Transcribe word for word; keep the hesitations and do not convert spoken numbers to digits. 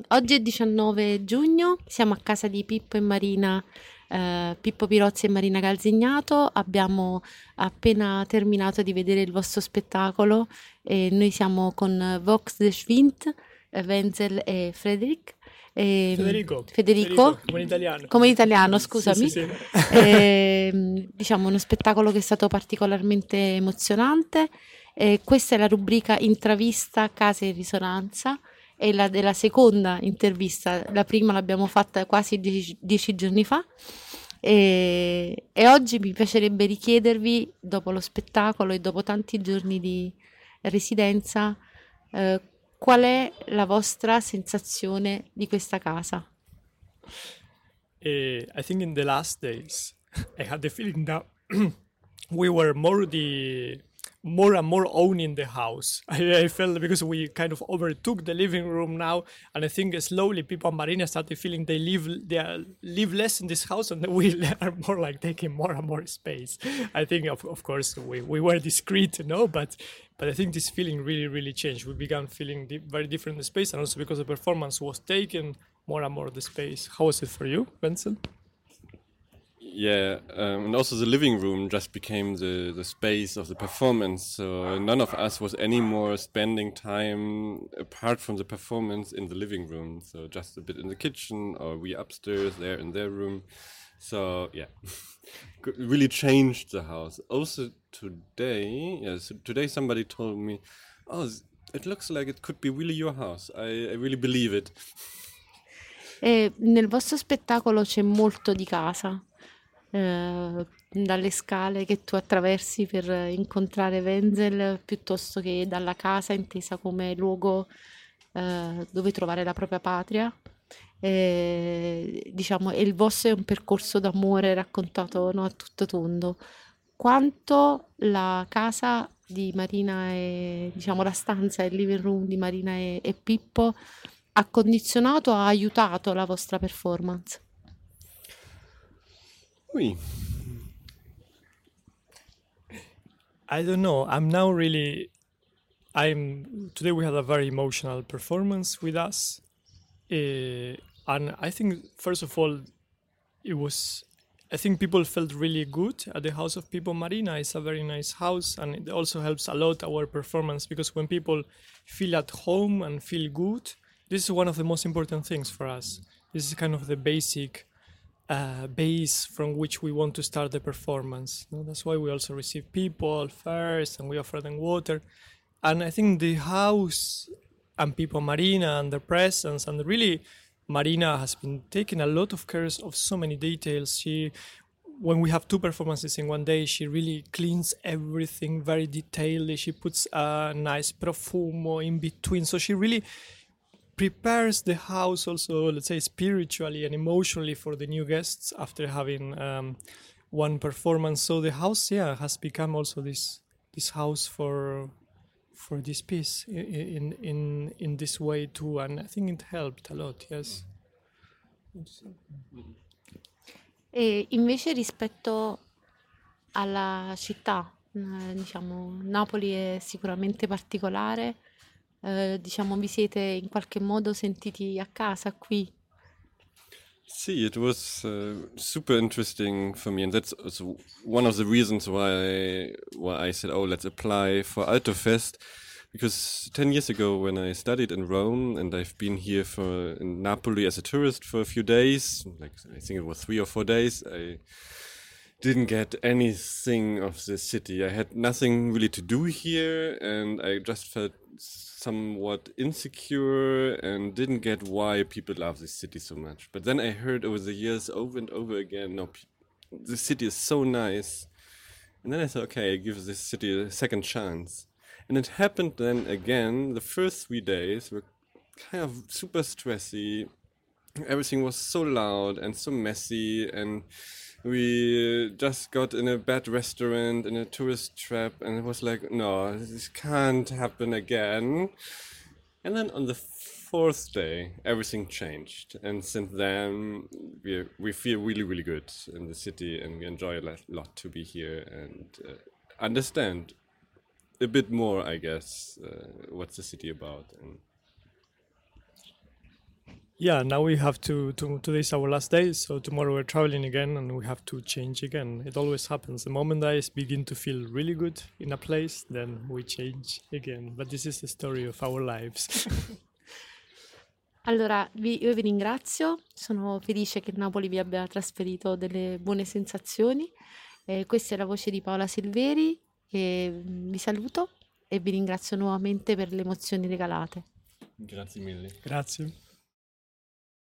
oggi è diciannove giugno, siamo a casa di Pippo e Marina, eh, Pippo Pirozzi e Marina Calzignato. Abbiamo appena terminato di vedere il vostro spettacolo e noi siamo con Vox de Schwint, eh, Wenzel e Frederick. E, Federico, Federico, Federico, come italiano. come italiano, Sì, sì, scusami. sì. E, diciamo uno spettacolo che è stato particolarmente emozionante. E questa è la rubrica Intravista Casa in Risonanza, è la della seconda intervista, la prima l'abbiamo fatta quasi dieci, dieci giorni fa e, e oggi mi piacerebbe richiedervi, dopo lo spettacolo e dopo tanti giorni di residenza, eh, qual è la vostra sensazione di questa casa? Uh, I think in the last days, I had the feeling that we were more the more and more owning the house. I, I felt because we kind of overtook the living room now, and I think slowly people and Marina started feeling they live they are, live less in this house, and we are more like taking more and more space. I think of of course we, we were discreet, you know, but but I think this feeling really really changed. We began feeling di- very different in the space, and also because the performance was taken more and more of the space. How was it for you, Vincent? Yeah, um, and also the living room just became the, the space of the performance. So none of us was anymore spending time apart from the performance in the living room. So just a bit in the kitchen, or we upstairs there in their room. So yeah, really changed the house. Also today, yeah, so today somebody told me, "Oh, it looks like it could be really your house." I, I really believe it. E nel vostro spettacolo c'è molto di casa, eh, dalle scale che tu attraversi per incontrare Wenzel, piuttosto che dalla casa intesa come luogo eh, dove trovare la propria patria. E, diciamo, e il vostro è un percorso d'amore raccontato, no, a tutto tondo. Quanto la casa di Marina e diciamo la stanza, il living room di Marina e, e Pippo ha condizionato, ha aiutato la vostra performance? Oui. I don't know. I'm now really. I'm today. We had a very emotional performance with us, uh, and I think first of all, it was. I think people felt really good at the House of People Marina. It's a very nice house, and it also helps a lot our performance because when people feel at home and feel good, this is one of the most important things for us. This is kind of the basic uh, base from which we want to start the performance. No, that's why we also receive people first and we offer them water. And I think the house and People Marina and their presence and really Marina has been taking a lot of care of so many details. She, when we have two performances in one day, she really cleans everything very detailedly. She puts a nice profumo in between. So she really prepares the house also, let's say, spiritually and emotionally for the new guests after having um, one performance. So the house, yeah, has become also this this house for for this piece in in in this way too, and I think it helped a lot. Yes. E invece rispetto alla città, eh, diciamo, Napoli è sicuramente particolare, eh, diciamo, vi siete in qualche modo sentiti a casa qui? See, it was uh, super interesting for me, and that's also one of the reasons why why I said, "Oh, let's apply for Altofest," because ten years ago, when I studied in Rome, and I've been here for in Napoli as a tourist for a few days, like I think it was three or four days, I didn't get anything of the city. I had nothing really to do here, and I just felt somewhat insecure and didn't get why people love this city so much. But then I heard over the years, over and over again, no, the city is so nice. And then I thought, okay, I give this city a second chance. And it happened then again. The first three days were kind of super stressy. Everything was so loud and so messy, and we just got in a bad restaurant in a tourist trap, and it was like, no, this can't happen again. And then on the fourth day, everything changed, and since then we we feel really really good in the city, and we enjoy a lot, lot to be here and uh, understand a bit more, I guess, uh, what's the city about. And yeah, now we have to, to today's our last day, so tomorrow we're traveling again and we have to change again. It always happens. The moment I begin to feel really good in a place, then we change again. But this is the story of our lives. Allora, vi- io vi ringrazio, sono felice che Napoli vi abbia trasferito delle buone sensazioni. Eh, questa è la voce di Paola Silveri e mm, vi saluto e vi ringrazio nuovamente per le emozioni regalate. Grazie mille. Grazie.